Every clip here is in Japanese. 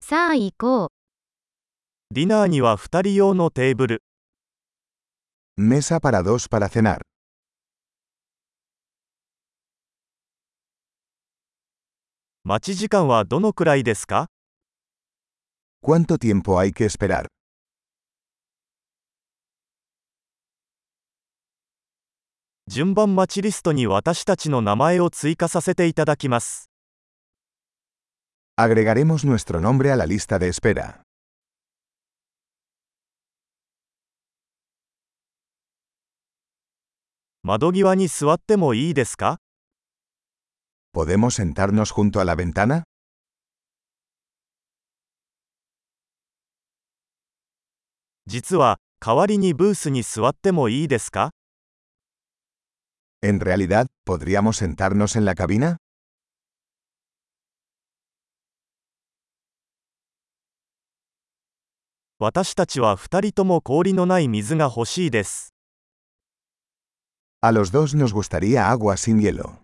さあ行こう。 ディナーには2人用のテーブル。 Mesa para dos para cenar. 待ち時間はどのくらいですか？ ¿Cuánto tiempo hay que esperar? 順番待ちリストに私たちの名前を追加させていただきます。 Agregaremos nuestro nombre a la lista de espera. 窓際に座ってもいいですか？ ¿Podemos sentarnos junto a la ventana? 実は、代わりにブースに座ってもいいですか？ En realidad, ¿podríamos sentarnos en la cabina? 私たちは2人とも氷のない水が欲しいです。 A los dos nos gustaría agua sin hielo.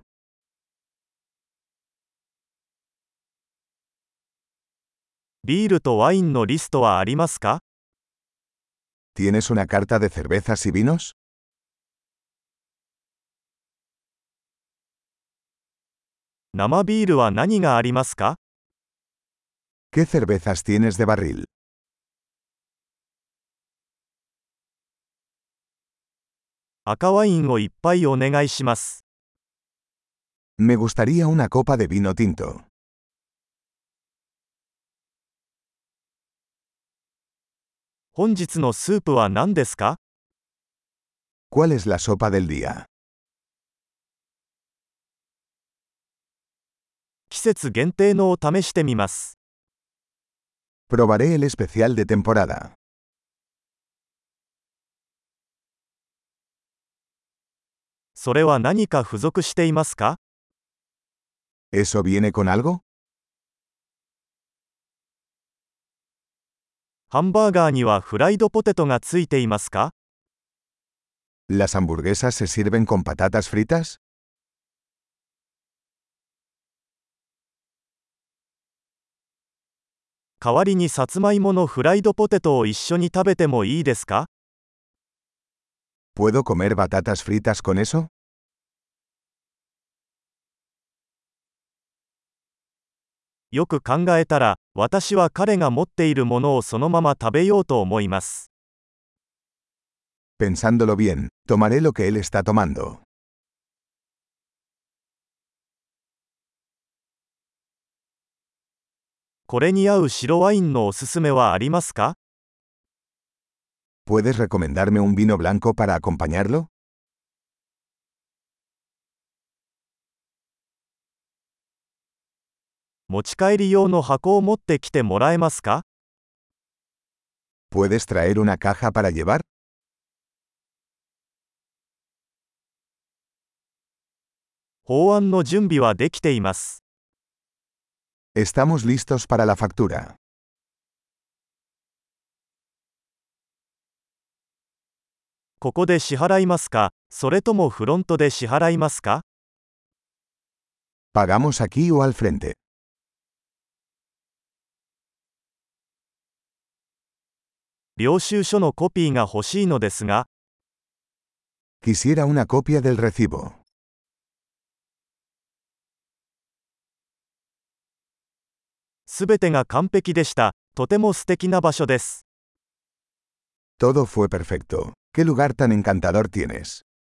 ビールとワインのリストはありますか？ ¿Tienes una carta de cervezas y vinos? 生ビールは何がありますか？ ¿Qué cervezas tienes de barril? 赤ワインをいっぱいお願いします。 Me gustaría una copa de vino tinto. 本日のスープは何ですか？ ¿Cuál es la sopa del día? 季節限定のを試してみます。 Probaré el especial de temporada. それは何か付属していますか？ ¿Eso viene con algo? ハンバーガーにはフライドポテトがついていますか？ ¿Las hamburguesas se sirven con patatas fritas? 代わりにさつまいものフライドポテトを一緒に食べてもいいですか？ ¿Puedo comer batatas fritas con eso? よく考えたら、私は彼が持っているものをそのまま食べようと思います。 Pensándolo bien, tomaré lo que él está tomando. これに合う白ワインのおすすめはありますか？ ¿Puedes recomendarme un vino blanco para acompañarlo? 持ち帰り用の箱を持ってきてもらえますか？ ¿Puedes traer una caja para llevar? 法案の準備はできています。 Estamos listos para la factura. ここで支払いますか、それともフロントで支払いますか？ ¿Pagamos aquí o al frente? 領収書のコピーが欲しいのですが、 Quisiera una copia del recibo. すべてが完璧でした。とても素敵な場所です。 Todo fue perfecto. ¿Qué lugar tan encantador tienes?